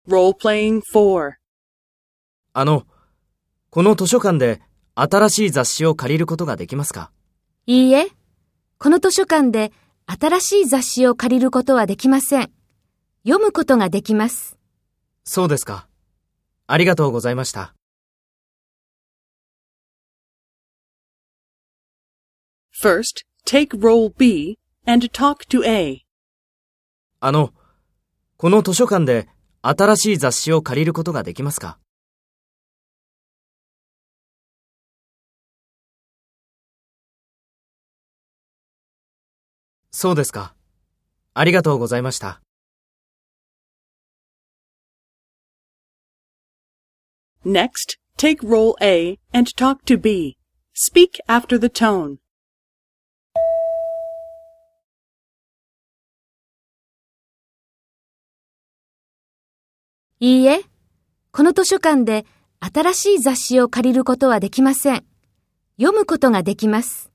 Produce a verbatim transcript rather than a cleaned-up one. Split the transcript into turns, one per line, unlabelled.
Role-playing four.
あの、この図書館で新しい雑誌を借りることができますか？
いいえ、この図書館で新しい雑誌を借りることはできません。読むことができます。
そうですか。ありがとうございました。
First, take role B and talk to A.
あの、この図書館で新しい雑誌を借りることができますか？そうですか。ありがとうございました。
Next, take role A and talk to B. Speak after the tone.
いいえ、この図書館で新しい雑誌を借りることはできません。読むことができます。